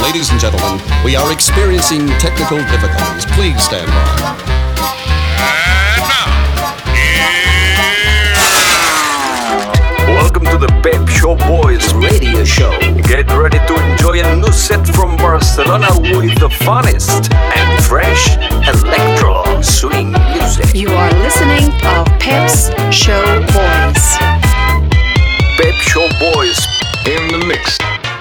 Ladies and gentlemen, we are experiencing technical difficulties. Please stand by. Welcome to the Pep Show Boys radio show. Get ready to enjoy a new set from Barcelona with the funnest and fresh electro swing music. You are listening to Pep's Show Boys. Pep Show Boys in the mix.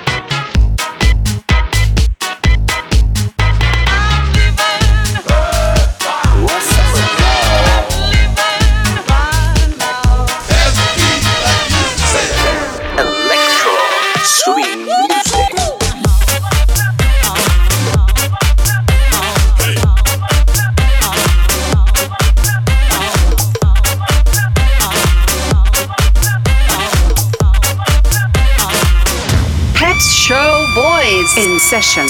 In session.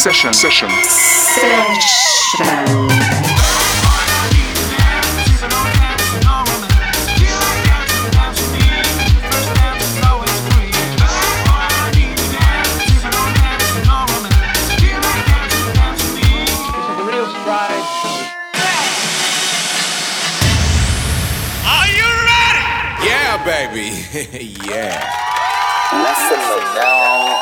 Are you ready? Yeah, baby. Yeah. Listen now.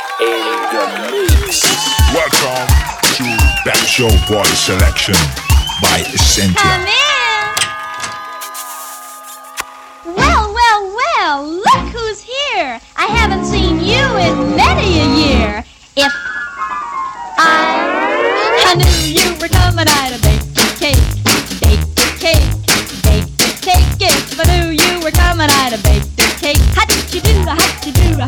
Welcome to Pep Show Boys Selection by Essentia. Well, look who's here. I haven't seen you in many a year. If I knew you were coming, I'd have baked a cake. If I knew you were coming, I'd have baked a cake. How'd you do? Had you knew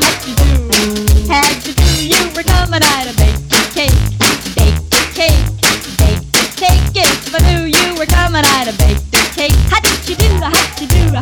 you were coming, I'd have baked a cake. If I knew you were coming, I'd have baked a cake. How did you do? Had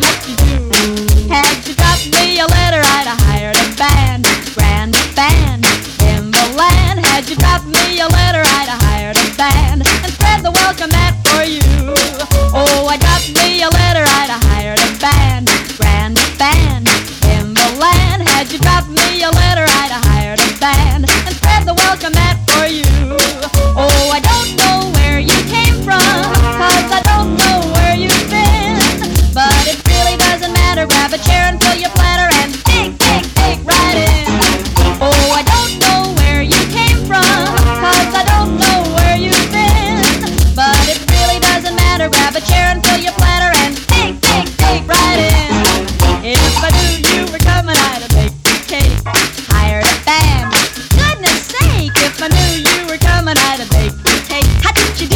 you dropped me a letter, I'd have hired a band, grand band in the land. Had you dropped me a letter, I'd have hired a band and spread the welcome mat for you. Oh, I dropped me a letter, I'd have hired a band, grand band in the land. Had you dropped me a letter, I'd have hired a band and spread the welcome mat for you. Oh, I don't know where you came from, 'cause I don't know where you've been, but it really doesn't matter. Grab a chair and fill your platter and dig right in. Oh, I don't know where you came from, 'cause I don't know where you've been, but it really doesn't matter. Grab a chair and fill your platter and dig right in. If I knew you were coming, I'd have baked a cake, hired a band. Goodness sake, if I knew you were coming, I'd have baked a cake. How did you do?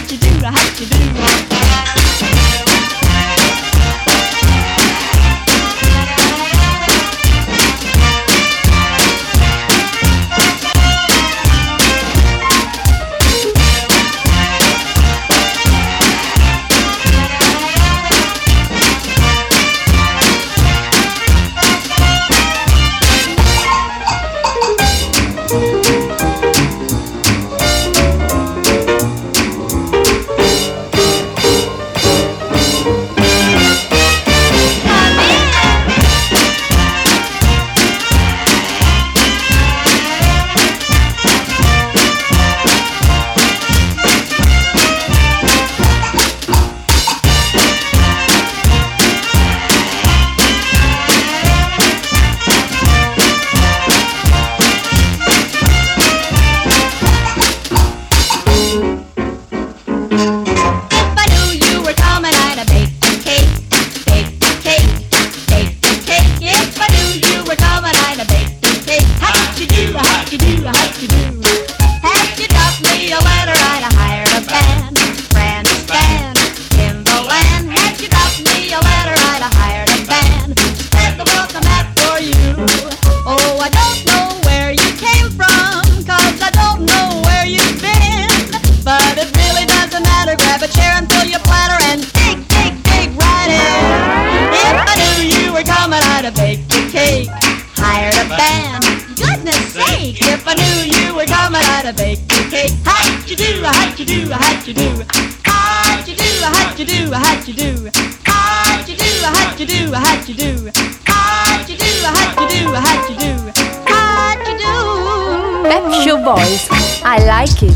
gotta bake the cake. How'd you do, how'd you do, how'd you do? How'd you do, how'd you do, how'd you do? How'd you do, how'd you do, how'd you do? How'd you do, how'd you do, how'd you do? How'd you do? Pep Show Boys. I like it.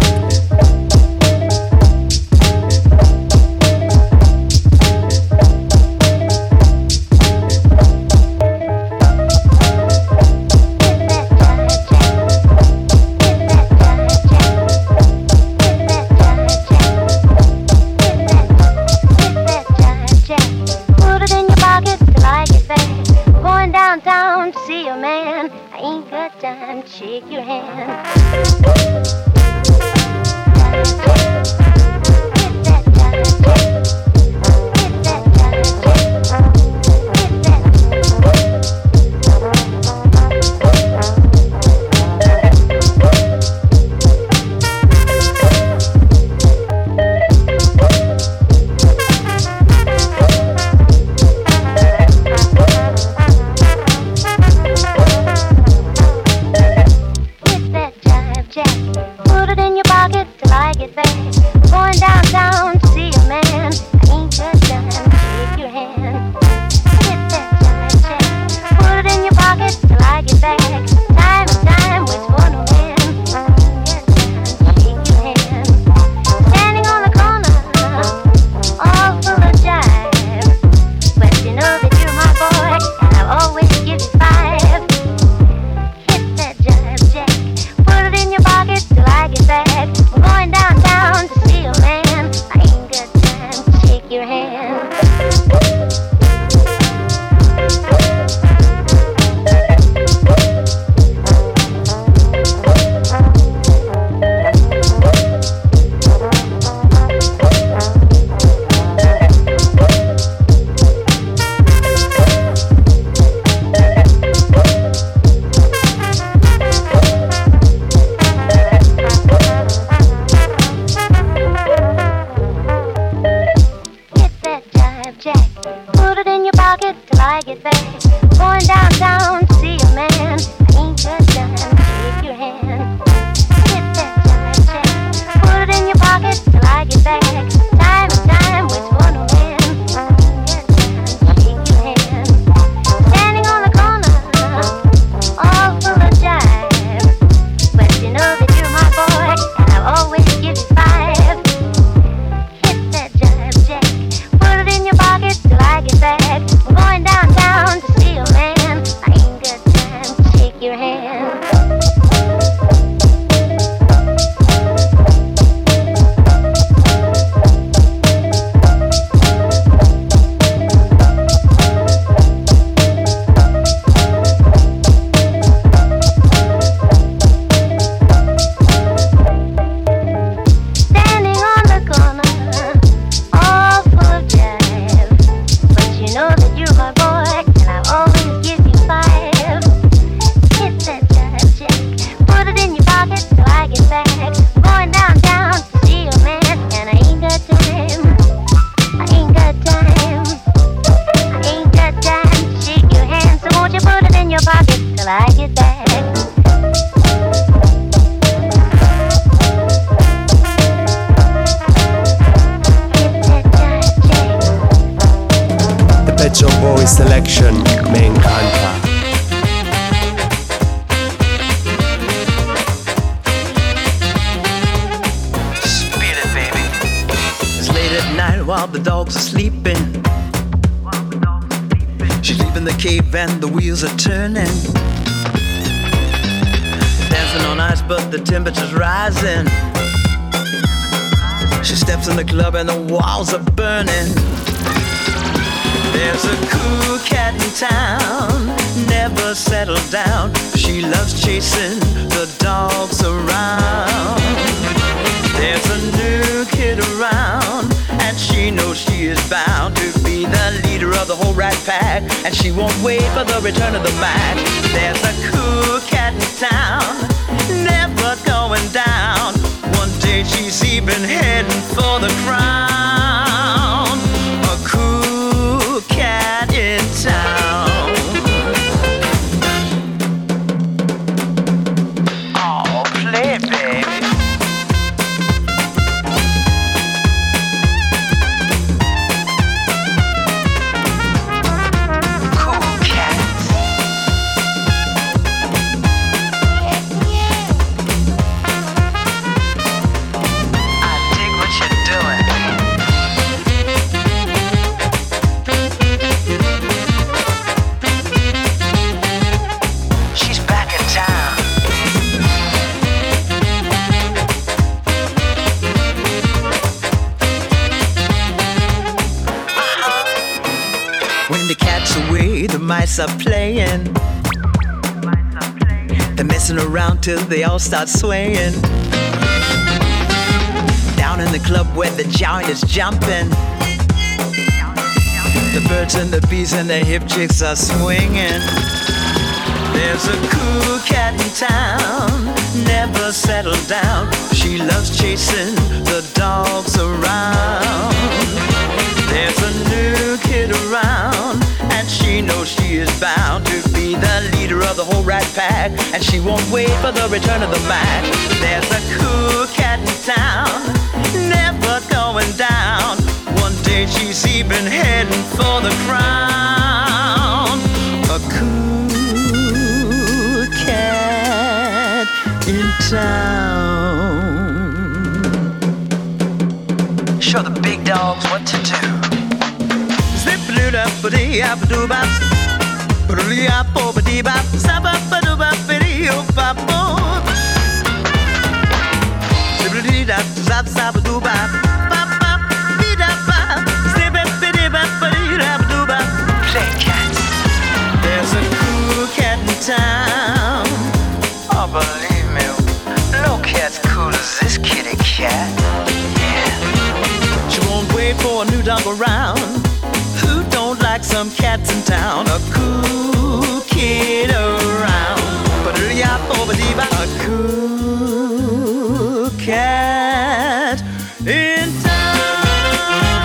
Downtown to see a man. I ain't got time to shake your hand. Selection, me encanta. Spit it, baby. It's late at night while the dogs are sleeping. She's leaving the cave and the wheels are turning. Dancing on ice, but the temperature's rising. She steps in the club and the walls are burning. There's a cool cat in town, never settled down. She loves chasing the dogs around. There's a new kid around, and she knows she is bound to be the leader of the whole rat pack, and she won't wait for the return of the Mac. There's a cool cat in town, never going down. One day she's even heading for the crown. A cool cat in town. Oh, play it, baby. mice are playing. They're messing around till they all start swaying. Down in the club where the giant is jumping, the birds and the bees and the hip chicks are swinging. There's a cool cat in town, never settled down. She loves chasing the dogs around. There's a new kid around, and she knows she is bound to be the leader of the whole rat pack, and she won't wait for the return of the Mac. There's a cool cat in town, never going down. One day she's even heading for the crown. A cool cat in town. Show the big dogs what to do. Zip-a-doo-da-ba-dee-a-ba-doo-bop, ba-doo-dee-a-bo-ba-dee-bop, zap-a-ba-doo-bop-ba-dee-oh-bop-bop. Zip-a-dee-da-zap-zap-a-doo-bop, bop-bop-dee-da-bop, zip-a-dee-bop-ba-dee-da-ba-doo-bop. Play cats. There's a cool cat in town. Oh, believe me, no cat's cool as this kitty cat. Yeah. She won't wait for a new dog around. Who don't like some cats in town? A cool kid around. A cool cat in town.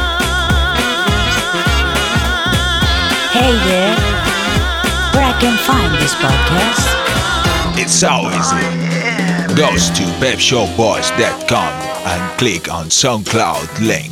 Hey there, where I can find this podcast? It's so easy. Go to pepshowboys.com and click on SoundCloud link.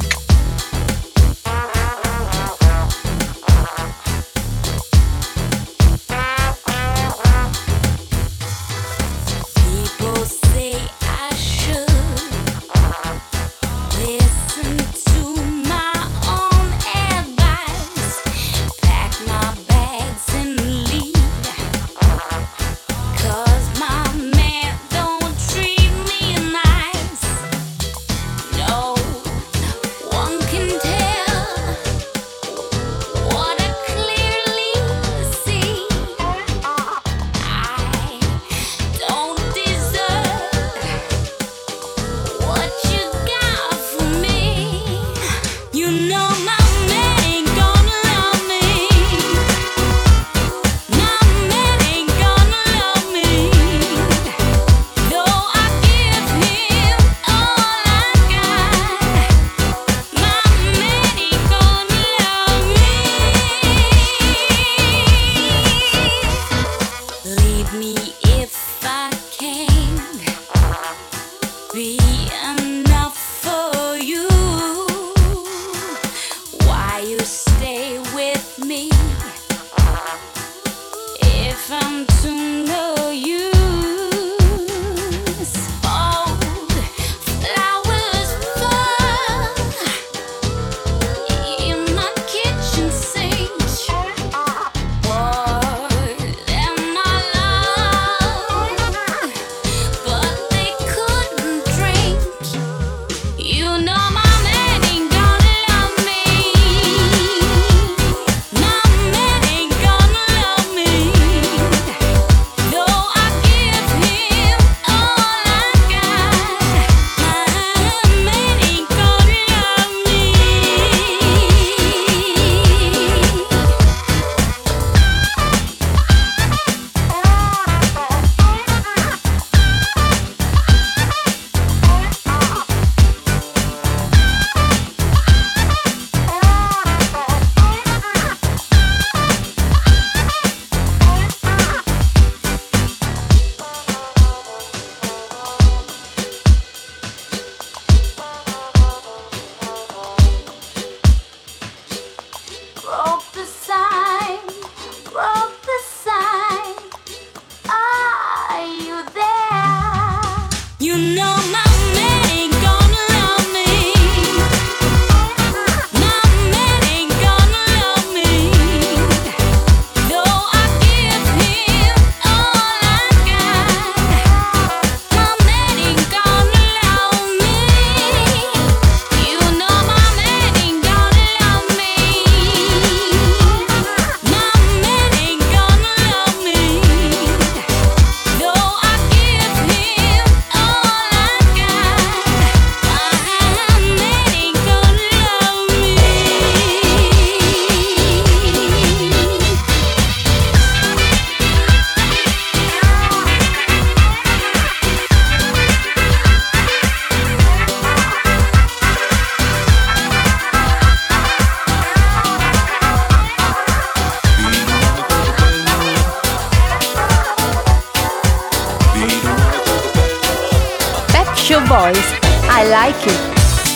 Pep Show Boys, I like it.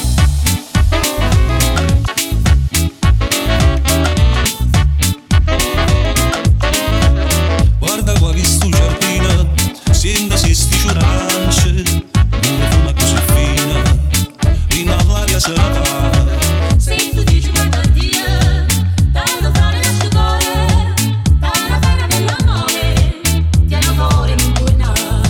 Guarda qua che sto giardino, sembra si sticciurance, una fuma così fina, fino all'aria se la fa. Se tu dici guarda Dio, tanto fare la sua cuore, tanto fare dell'amore, tieni amore in buona.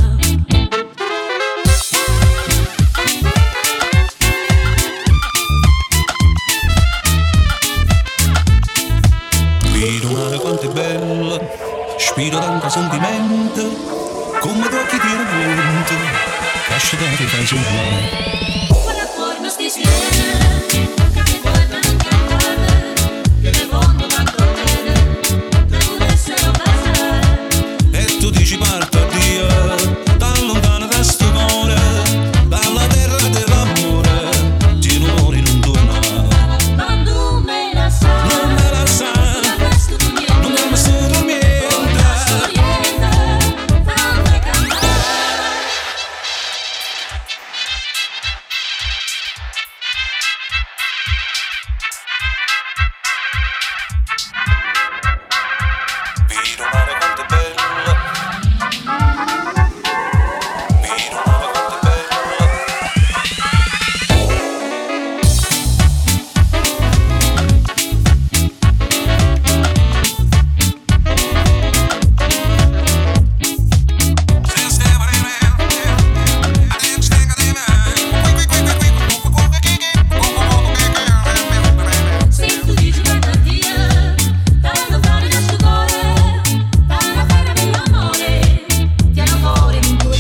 Vedo mare quanto è bella, spiro tanto sentimento, come gli occhi di vento, lascia da che fai sognare. Quella fuori non sti siena, che guarda non cantare, che nel mondo tanto bene, tu volessero passare. E tu dici parto a Dio, da lontano da sto cuore, dalla terra dell'amore, ti muori non torna. Ma tu me la sai, non me la sai, non resto tu niente, non mi resto tu niente. tanto cantare. Vedo mare quanto è bella, vedo mare quanto è bella. Se tu dici guarda Dio, tanto fare la sua cuore, tanto fare dell'amore, tieni amore in buona.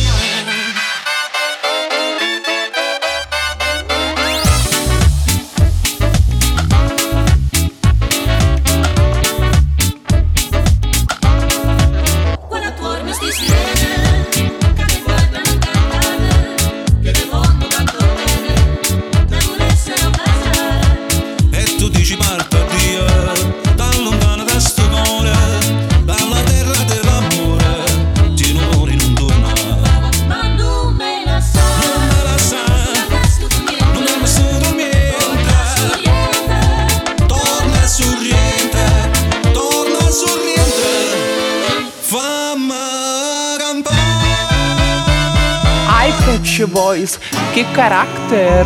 Quella fuori non sti siena, che guarda non cantare, che nel mondo tanto bene, tu volessero passare. E tu dici parto a Dio, da lontano da sto cuore, dalla terra dell'amore, ti muori non torna. Ma tu me la sai, Non me la sai, non resto tu niente, non mi resto tu niente. Torna sorriente, torna sorriente, fammi campare. Ai Pep Show Boys, che carattere!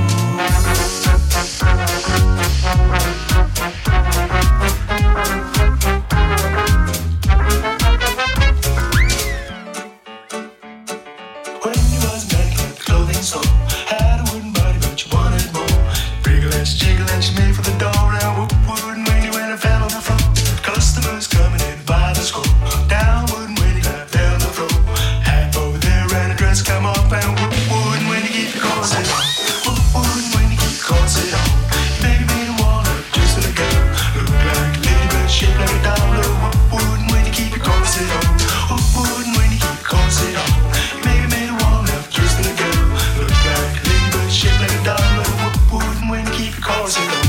When you was back at the clothing store, had a wooden body but you wanted more. Wriggle and jiggle and she made for the door and whoop wooden when you went and fell on the floor. Customers coming in by the score. Down wooden when you got down the floor. Hat over there and a dress come up and whoop wooden when you keep your corset on. Whoop wooden when you keep your corset on. Baby made a wall up just for the girl. Look like a lady but shaped like a dollar. Whoop wooden when you keep your corset on. Whoop wooden when you keep your corset on. Baby made a wall up just for the girl. Look like a lady but shaped like a dollar. Whoop wooden when you keep your corset on.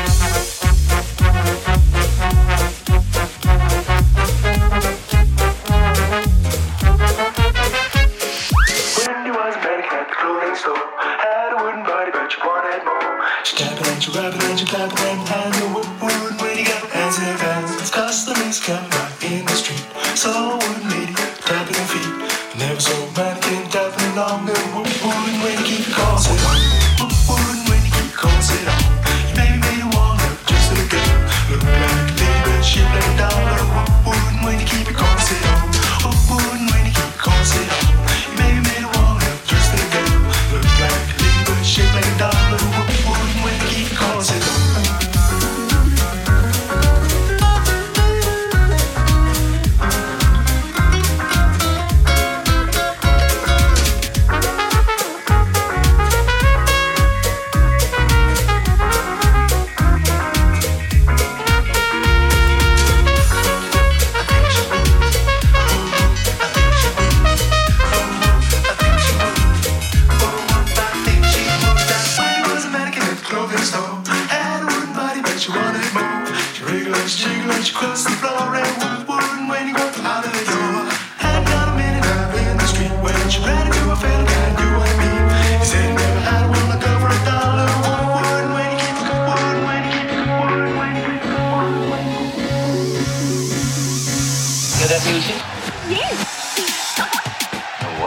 Wendy was a manic at the clothing store. Had a wooden body, but you wanted more. She tapping and she rapping and she clapping and hand the whoop wooden when you got hands in her hands. Customers coming right in the street. Saw a wooden lady tapping her feet. Never saw a mannequin tapping along the whoop wooden when you keep your corset on. Whoop wooden when you keep your corset on. Your baby made a wall up just for the girl. Look like a lady but shaped like a dollar. Whoop wooden when you keep your corset on. Whoop wooden when you keep your corset on. Your baby made a wall up just for the girl. Look like a lady but shaped like a dollar. Whoop wooden when you keep your corset on.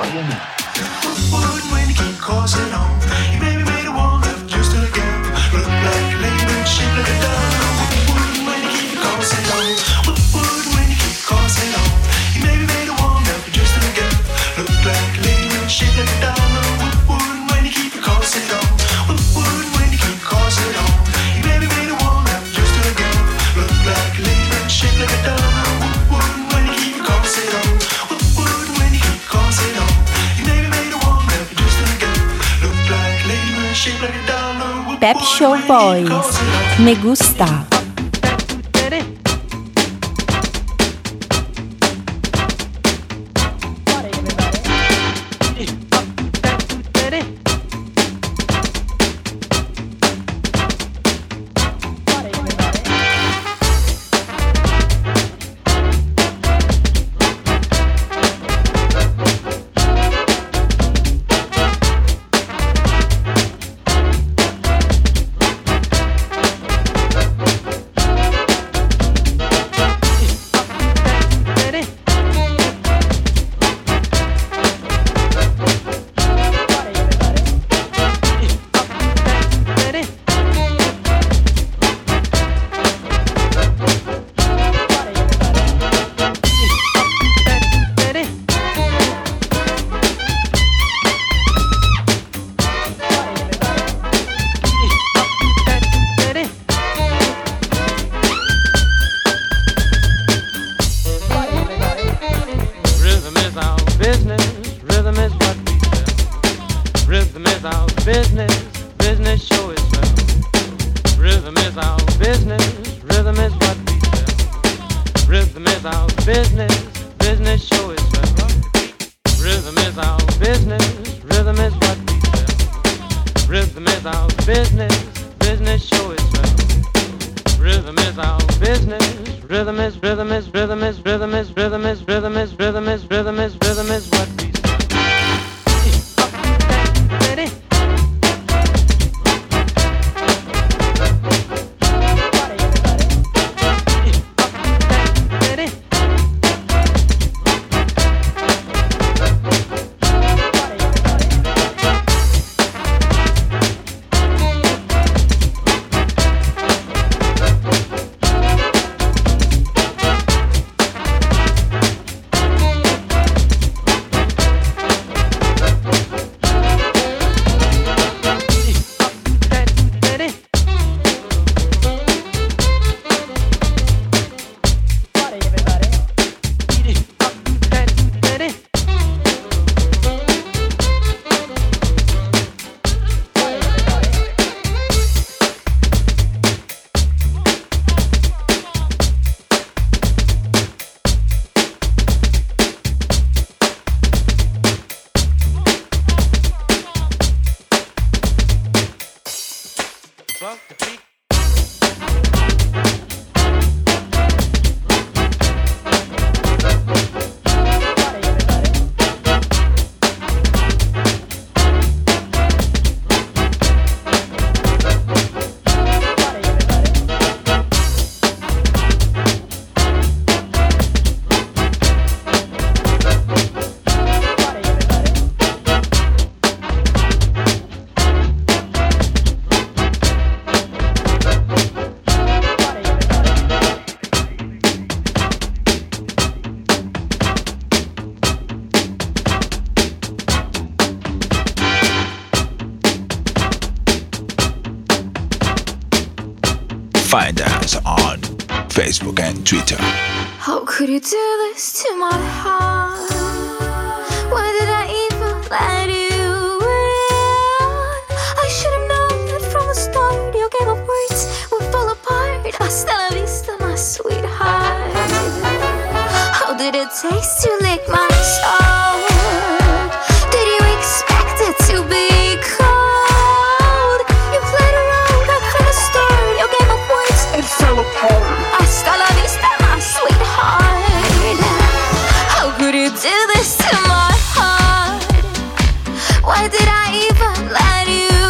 Wouldn't when you keep coursing on. You maybe made a one left just to get. Look like a lady shaped like a doll. Wouldn't when you keep coursing on. Wouldn't when you keep coursing on. You maybe made a one left just to get. Look like a lady shaped like a doll. Wouldn't when you keep coursing on. Wouldn't when you keep coursing on. You maybe made a one left just to get. Look like a lady shaped like a doll. Wouldn't when you keep coursing on. Wouldn't when you keep coursing on. You maybe made a one left just to get. Look like a lady shaped like a doll. Pep Show Boys. Me gusta. Find us on Facebook and Twitter. How could you do this to my heart? Why did I even let you in? I should have known that from the start. Your game of words would fall apart. Hasta la vista, my sweetheart. How did it taste to lick my soul? Did you expect it to be cold? You played around right from the start. Your game of words, it fell apart. Hasta la vista, my sweetheart. How could you do this to my heart? Why did I even let you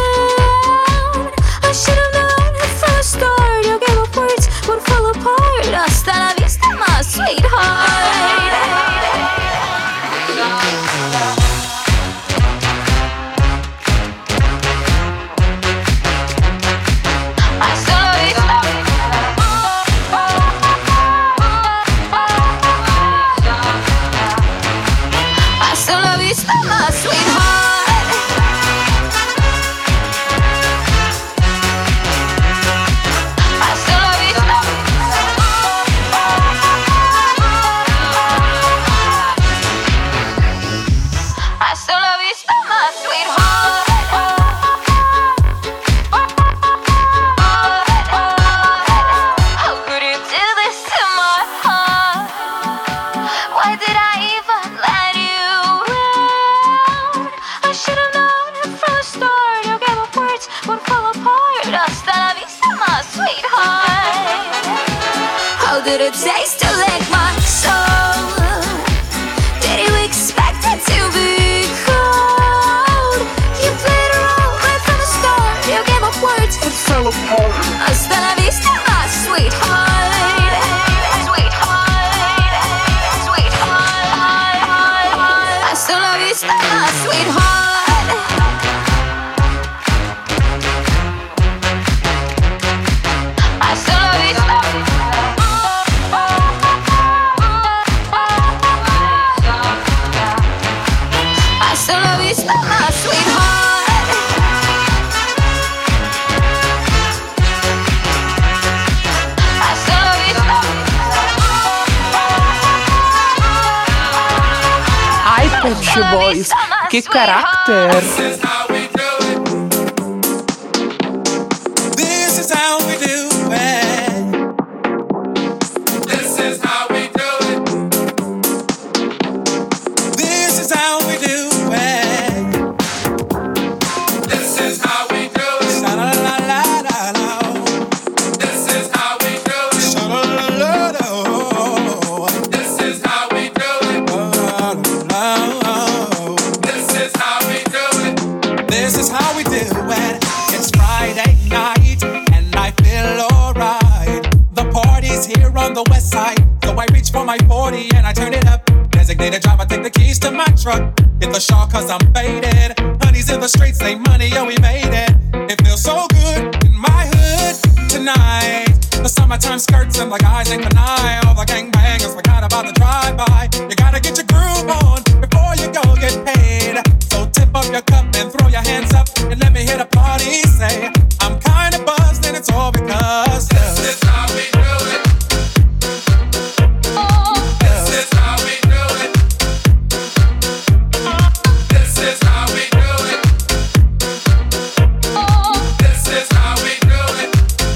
in? I should have known it from the start. Your game of words would fall apart. Hasta la vista, my sweetheart. did it taste to lick my soul? Did you expect it to be cold? You played a role right from the start. You gave up words, it fell apart. Hasta la vista, my sweetheart. Sweetheart, sweetheart. Hasta la vista, my sweetheart. Hasta la vista. Hasta la vista, my sweetheart. Hasta la vista. Ai, Pet Shop Boys, che carattere! This is how we do it. This is how we do it. This is how we do it. This is how we do it. Sha-la-la-la-la-la. This is how we do it. Sha-la-la-la-la. This is how we do it. This is how we do it. This is how we do it. It's Friday night and I feel alright. The party's here on the west side, so I reach for my 40 and I turn it up. Designated driver, take the keys to my truck. Hit the shawl cause I'm faded. Honey's in the streets, say money, yo, we made it. It feels so good in my hood tonight. The summertime skirts and the guys ain't canine. All the gangbangers forgot about the drive-by. You gotta get your groove on before you go get paid. So tip up your cup and throw your hands up and let me hear the party say, I'm kinda buzzed and it's all because this is how we do it. This is how we do it. This is how we do it. This is how we do it.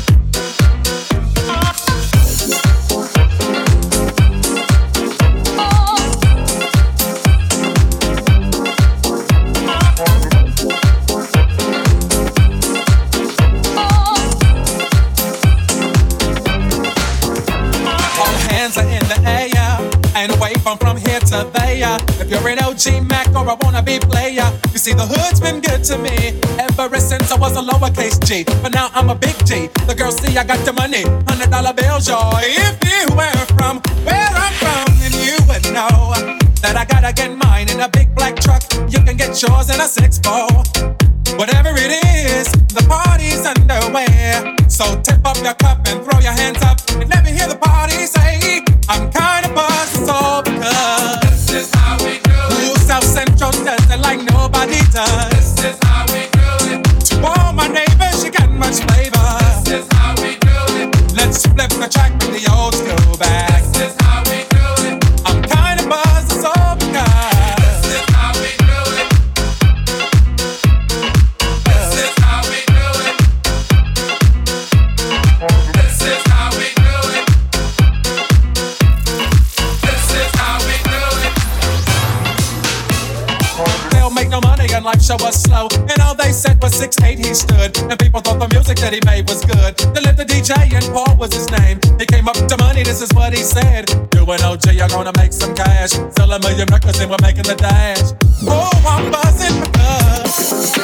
All hands are in the air and wave from here to there. If you're an OG Mac or a wannabe player, you see the hood's been good to me ever since I was a lowercase G. But now I'm a big G. The girls see I got the money, $100 bills, y'all. If you were from where I'm from, then you would know that I gotta get mine in a big black truck. You can get yours in a 6-4. Whatever it is, the party's underway. So tip up your cup and throw your hands up and let me hear the party say, I'm kinda buzzed, it's all because this is how we do it. Ooh, South Central does it like nobody does. This is how we do it. To all my neighbors, you got much flavor. This is how we do it. Let's flip the track with the old school back. This is how we do it. I'm kinda buzzed, it's all because this is how we do it. This is how we do it. This is how we do it. This is how we do it. They'll make no money and life show was slow. And all they said was 6'8" he stood. And people thought the music that he made was good. They lived the DJ and Paul was his name. He came up to money, this is what he said. You and OG are gonna make some cash. Sell a million records and we're making the dash. Oh, I'm buzzing because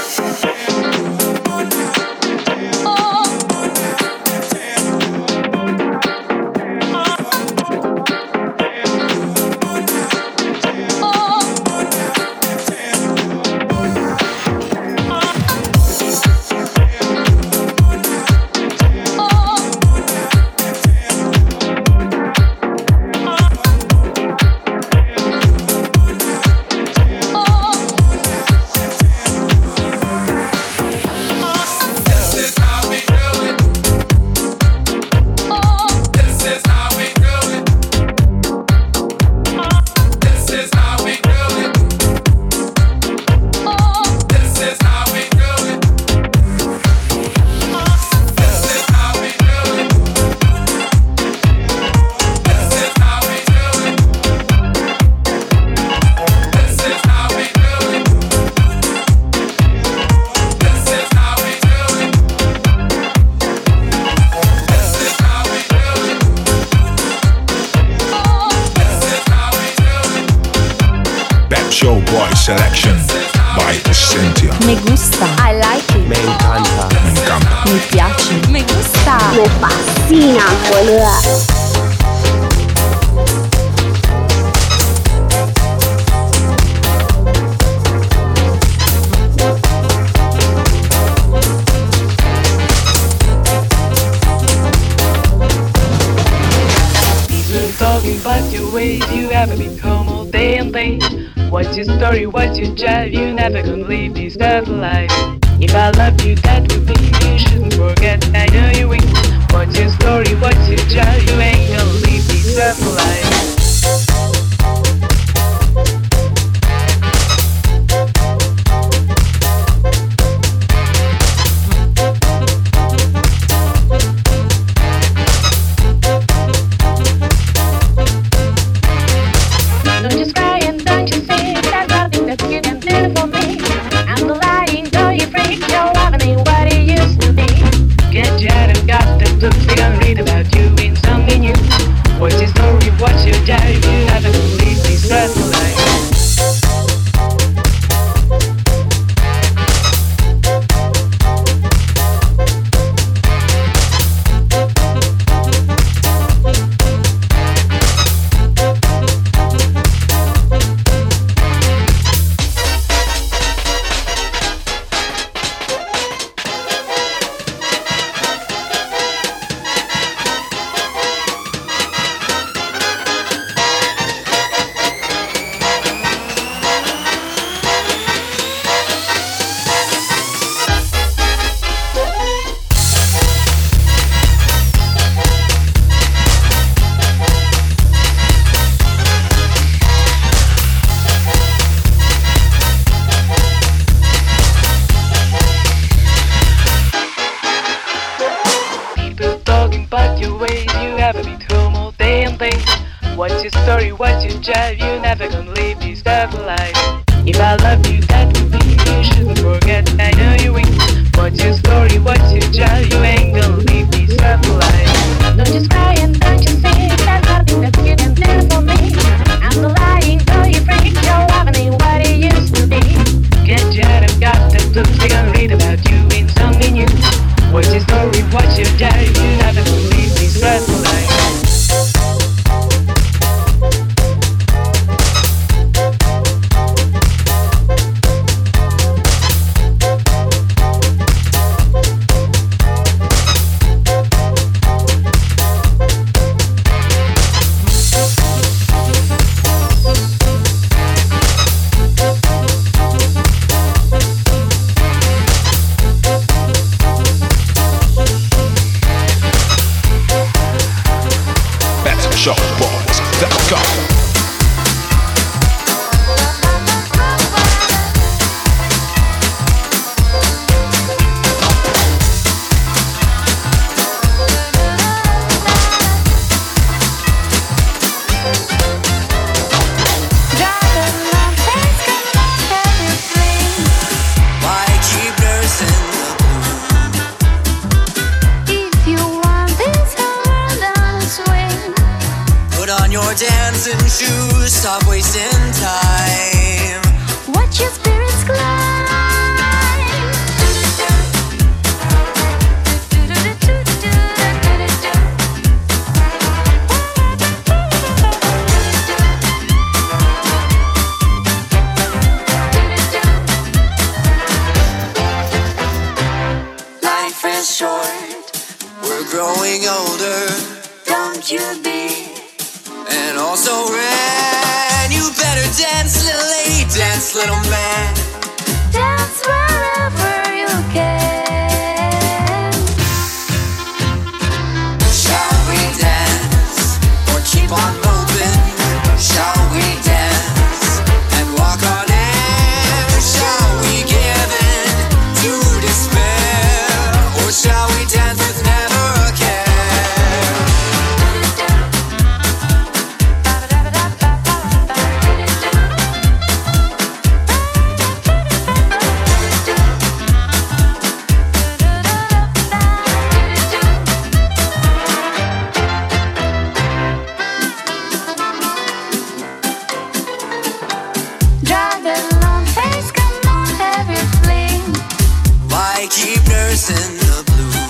Show Boy selection by Cynthia. Me gusta. I like it. Me encanta. Me encanta. Mi piace. Me gusta. Me fascina, boluda. Talking about your ways, you ever become all day and day. What's your story, what's your drive, you never gonna leave this earth alive. If I love you, that would be, you shouldn't forget, I know you will. What's your story, what's your drive, you ain't gonna leave this earth alive. What's your story, what's your drive, you never gonna leave this earth alive. If I love you, that would be, you shouldn't forget, I know you will. What's your story, what's your drive, you ain't gonna leave this earth alive. Don't just cry and don't just sing, there's nothing that you can do for me. I'm not lying, though you freak, your love ain't what it used to be. Get jet, I've got the blues, they gonna read about you in something new. What's your story, what's your drive, you never gonna leave this earth alive. Showboys.com. Dancing shoes, stop wasting time. Watch your spirits climb. Life is short, we're growing older. Don't you be. And also ran, you better dance, little lady, dance, little man. Dance wherever you can. Shall we dance, or keep on moving? Shall we dance, and walk on air? Shall we give in to despair? Or shall we dance with never a care? chasing the blue.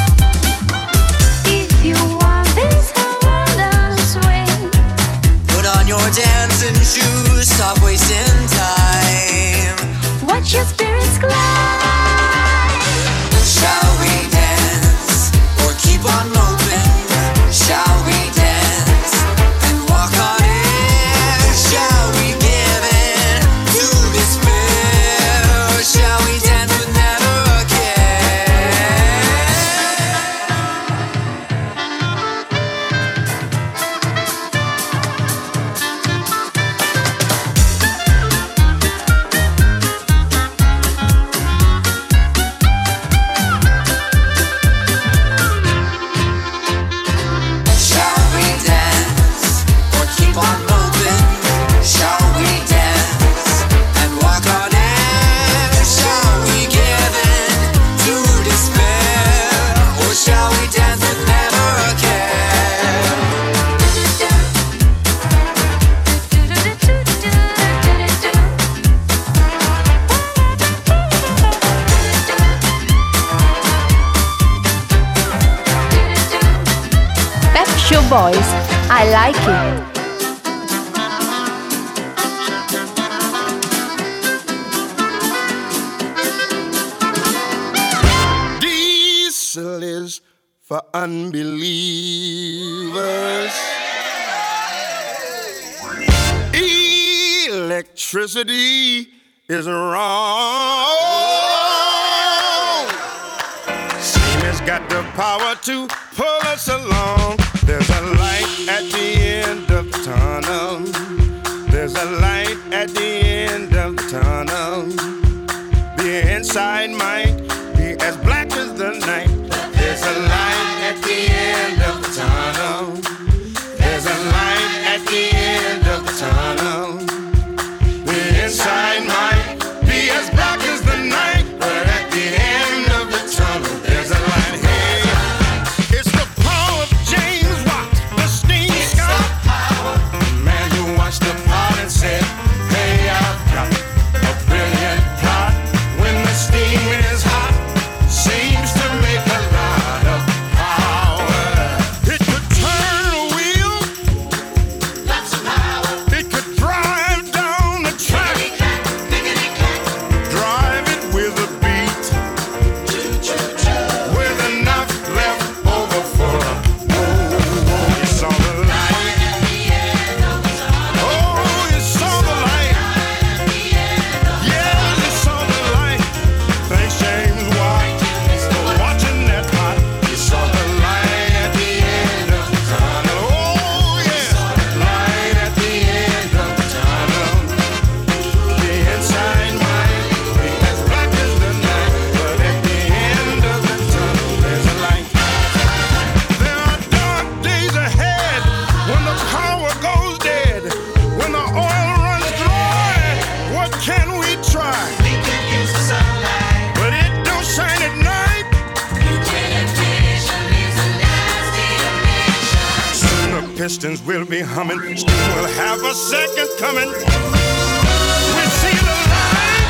If you want this harmonious swing, Put on your dancing shoes, stop wasting time. watch your spirits glide. Shall we dance or keep on moping? Shall we dance and walk on air? Shall we give in to despair? Or shall we dance with never a care? Shall we dance or keep on moping? Shall we dance and walk on air? Shall we give in to despair? Or shall we dance with never a care? Pep Show Boys, I like it. Diesel is for unbelievers. Electricity is wrong. Steam has got the power to pull us along. There's a light at the end of the tunnel. There's a light at the end of the tunnel. The inside might be as black as the night. There's a light at the end of the tunnel. There's a light at the end of the tunnel. The inside might be as black as the night, but at the end of the tunnel, there's a light. Hey, it's the power of James Watt, the steam scout. The man who watched the pot and said, hey, I've got a brilliant plot. When the steam is hot, seems to make a lot of power. It could turn a wheel, lots of power. It could drive down the track, drive it with a beat, with enough left over for a you saw the light. Oh, you saw the light. Yeah, you saw the light. Thanks, James Watt, for watching that pot. You saw the light at the end of the tunnel. Oh, yeah, light at the end of the tunnel. The inside might be as black as the night, but at the end of the tunnel, there's a light. There are dark days ahead when the power goes dead, when the oil runs dry. What can we try? We can use the sunlight, but it don't shine at night. Nuclear fission leaves a nasty emission. Soon the pistons will be humming. Steam will have a second coming. We see the light.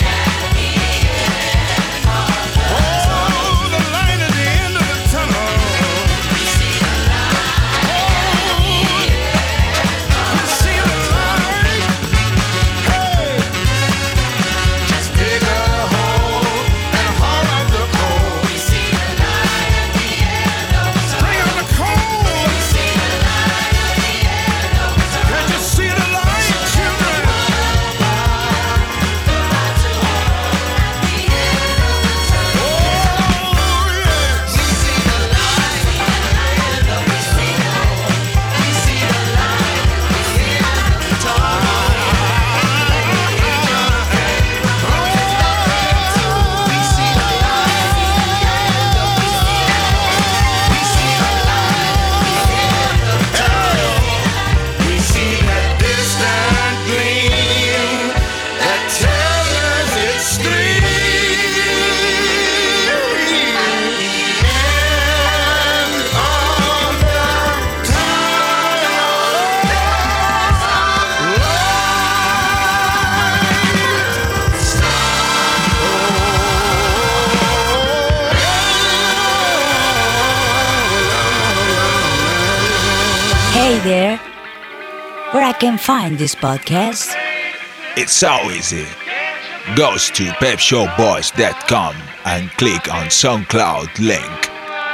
Oh, the light at the end of the tunnel. We see the light. We see the light. Hey, just dig a hole and haul out the coal. We see the light at the end of the tunnel. Bring out the coal. We see the light at the end of the tunnel. Can't you see the light, children? Hey there, where I can find this podcast? It's so easy. Goes to pepshowboys.com and click on SoundCloud link.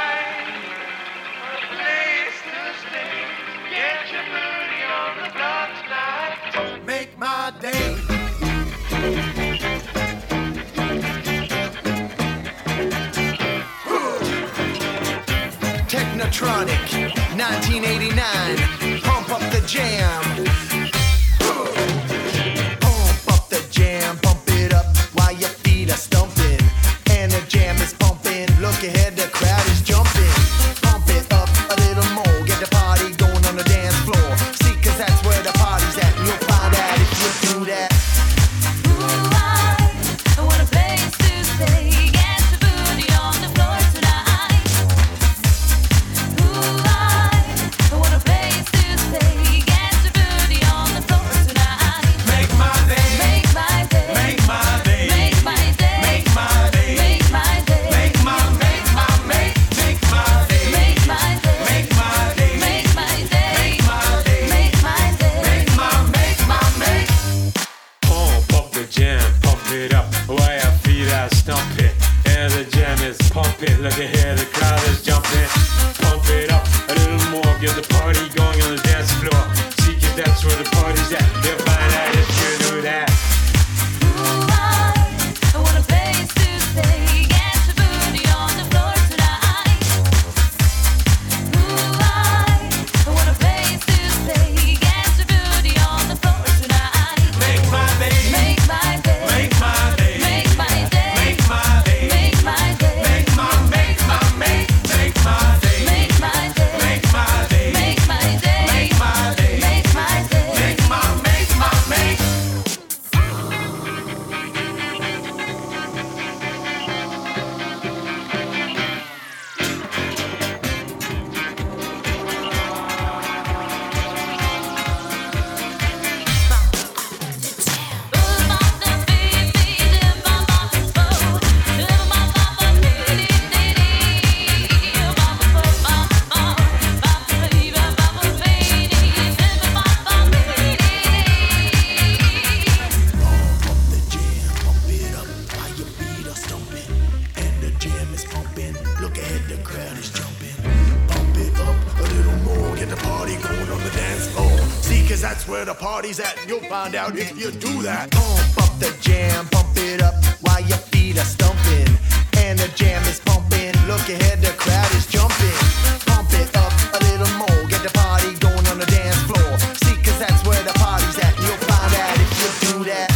Make my day. Technotronic, 1989. Pump up the jam. Pump up the jam, pump it up while your feet are stumping. And the jam is pumping. Look ahead, the crowd is jumping. Pump it up a little more. Get the party going on the dance floor. See, 'cause that's where the party's at. And you'll find out if you do that. I want a place to stay. Get your booty on the floor tonight. I want a place to stay. Get your booty on the floor tonight. Make my day. Make my day. Make my day. Make my day. Make my day. Make my day. Make my day. Make my day. Make my day. Make my day. Make my day. Make my day. Make my make. Pump up the jam, pump it up while your feet are stomping. And the jam is pumping. Look ahead, the crowd is jumping. Pump it up a little more, get the party going on the dance floor. See, 'cause that's where the party's at. You'll find out if you do that. I want a place to stay. Get your booty on the floor tonight. I want a place to stay. Get your booty on the floor tonight. Make my day. Make my day. Make my day. Make my day. Make my day. Make my day. Make my make my make. Make my day. Make my day. Make my day. Make my day. Make my day. Make my day. Make my make. And the jam is pumping. Look ahead, the crowd is jumping. Pump it up a little more. Get the party going on the dance floor. See, 'cause that's where the party's at. And you'll find out if you do that. Pump up the jam, pump it up while your feet are stumping. And the jam is pumping. Look ahead, the crowd is jumping. Pump it up a little more. Get the party going on the dance floor. See, 'cause that's where the party's at. And you'll find out if you do that.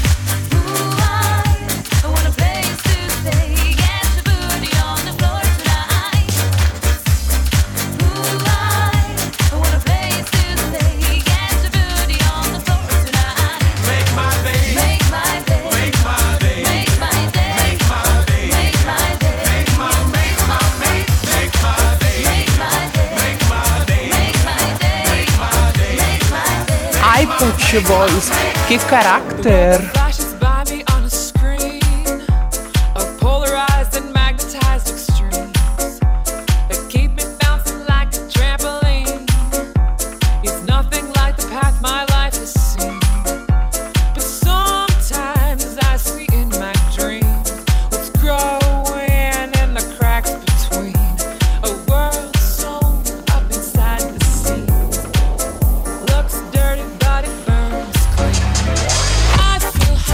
I want a place to stay. Get your booty on the floor tonight. I want a place to stay. Get your booty on the floor tonight. Make my day. Make my day. Make my day. Make my day. Make my day. Make my day. Make my make my make. Make my day. Make my day. Make my day. Make my day. Make my day. Make my day. Ai, Pet Boys, que carácter! Flashes by me on a screen of polarized and magnetized extremes that keep me bouncing like a trampoline. It's nothing like the path my life has seen, but sometimes I see in my dreams what's growing in the cracks between a world sewn up inside the sea. Looks dirty, but it burns clean. I feel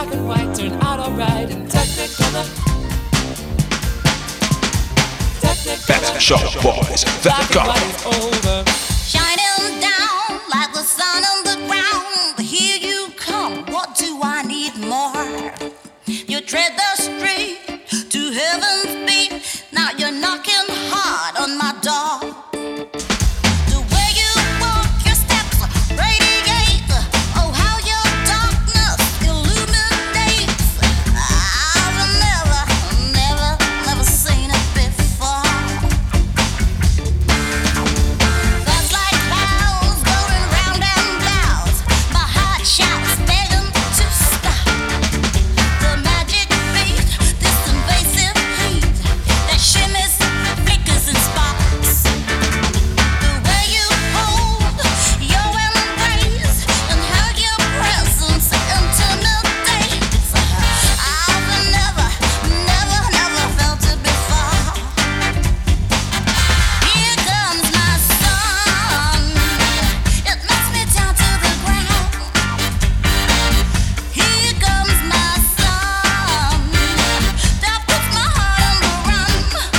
black and white turn out alright in Technicolor. PepsiShowBoys.com. Shining down like the sun on the ground. Here you come, what do I need more? You tread the street to heaven's beat. Now you're knocking hard on my door. The way you walk, your steps radiate. Oh, how your darkness illuminates. I've never seen it before. Thoughts like clouds going round and round. My heart shouts, begging to stop. The magic beat, this invasive heat that shimmers, flickers and sparks. The way you hold your embrace and how your presence intimidates. I've never felt it before. Here comes my sun. It knocks me down to the ground. Here comes my sun. That puts my heart on the run.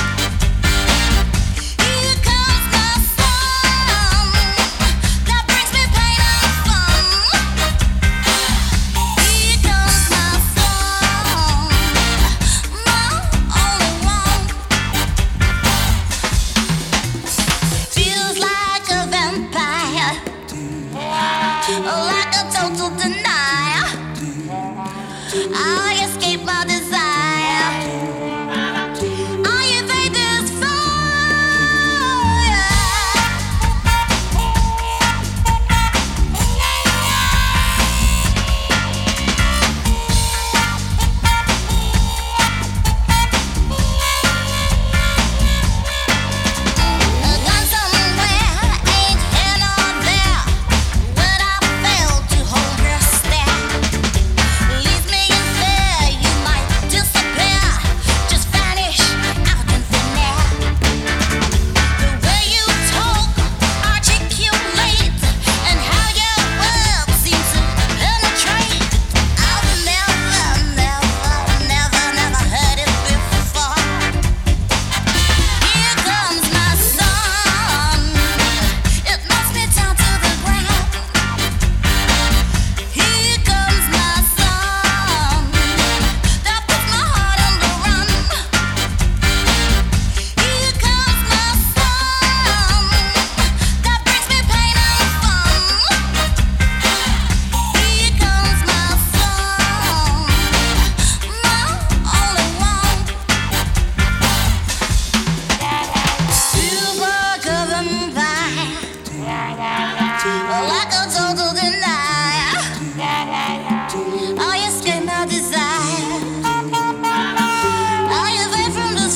Here comes my sun. That brings me pain and fun. Here comes my sun. My only one. Feels like a vampire, like a total denier. I escape my desire. I evade this fire. Gone somewhere, ain't here nor there. When I fail to hold your stare, leaves me in fear. You might disappear, just vanish out in thin air. The way you talk, articulate, and how your words seem to penetrate. I've never heard it before. Here comes my sun. It knocks me down to the ground. Here comes my sun. That puts my heart on the run. Here comes my sun. That brings me pain and fun. Here comes my sun. My only one. Super governed by like a total denier. I escape my desire. I evade from this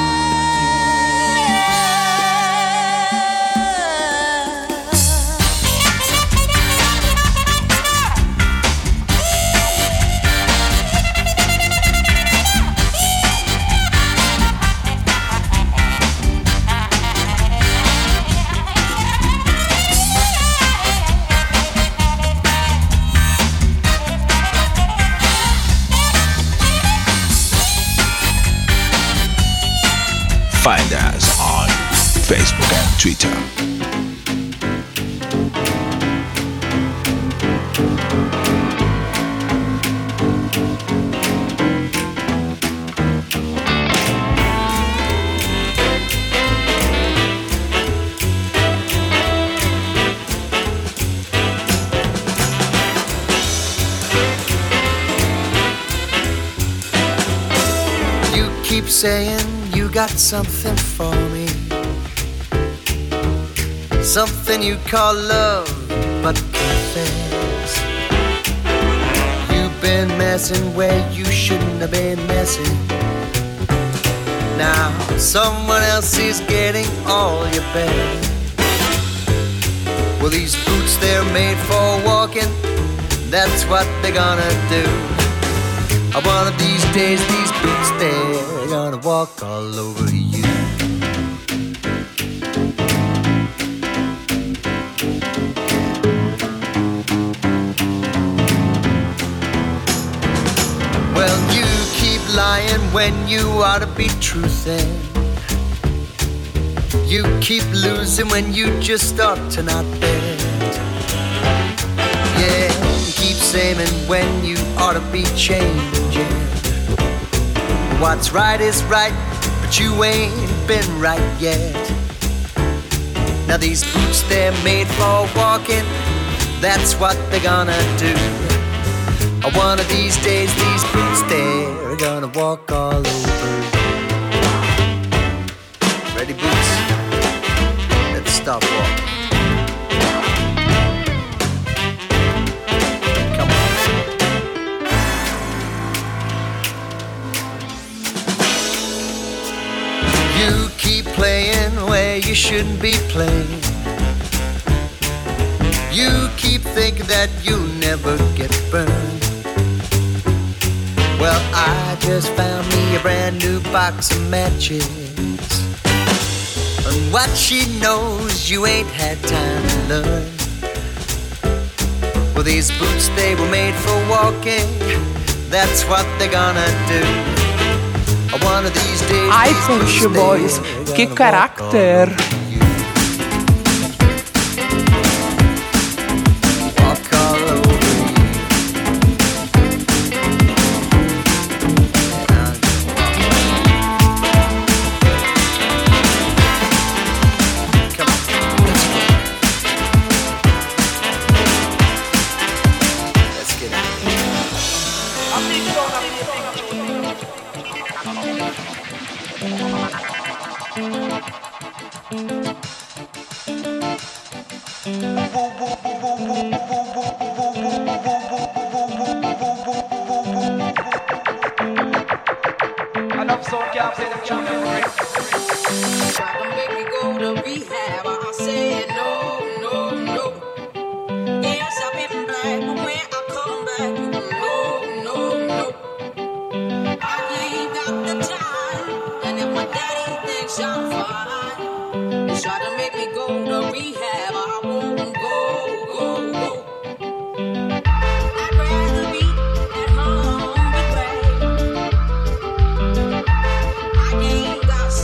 Find us on Facebook and Twitter. You keep saying you got something for me, something you call love, but confess you've been messing where you shouldn't have been messing. Now someone else is getting all your best. Well, these boots, they're made for walking, that's what they're gonna do. One of these days, these boots, they're gonna walk all over you. when you ought to be truthing. You keep losing when you just ought to not bet. Yeah, you keep saving when you ought to be changing. What's right is right, but you ain't been right yet. Now these boots, they're made for walking. That's what they're gonna do. One of these days, these boots, they're gonna walk all over. Ready, boots? Let's stop walking. Come on. You keep playing where you shouldn't be playing. You keep thinking that you'll never get burned. Well, I just found me a brand new box of matches. And what she knows you ain't had time to learn. Well, these boots, they were made for walking. That's what they're gonna do. One of these days, Ai, Pet Shop Boys, che carattere! Enough so can't play the tune and break. Try to make me go to rehab. I said no, no, no. Yes, I've been black, but when I come back, no, no, no. I ain't got the time, and if my daddy thinks I'm fine, they try to make me go to rehab. I won't go, go, go. I'd rather be at home with Ray. I ain't got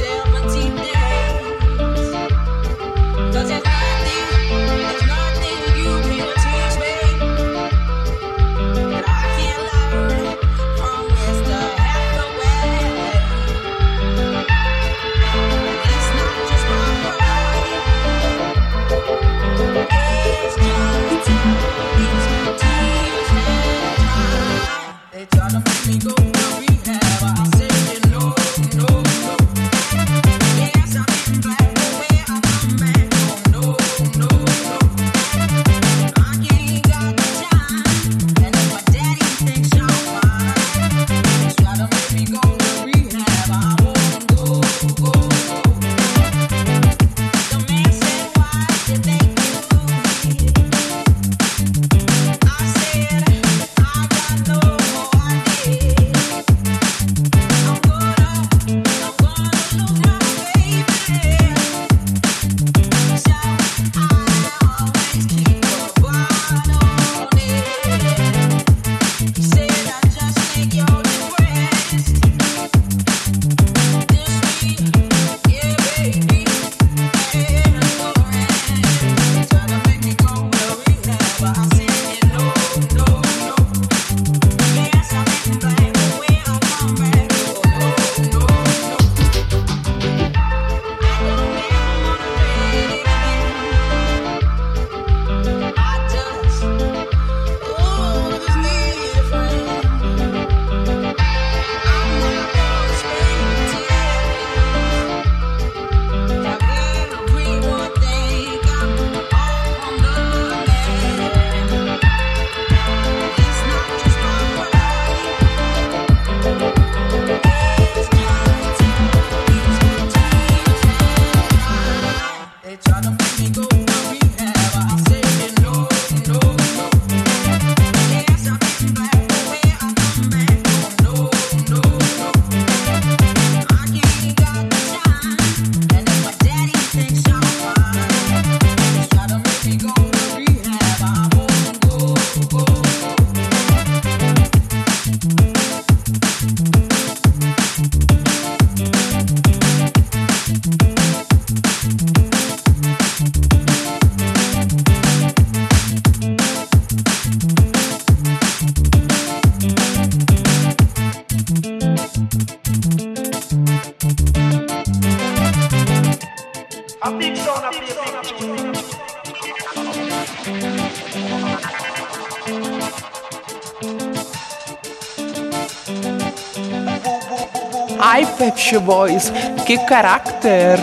Ay, Pet Shop Boys, qué carácter.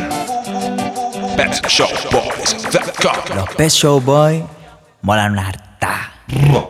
PetShowBoys.com. Los Pet Show Boys molan una harta.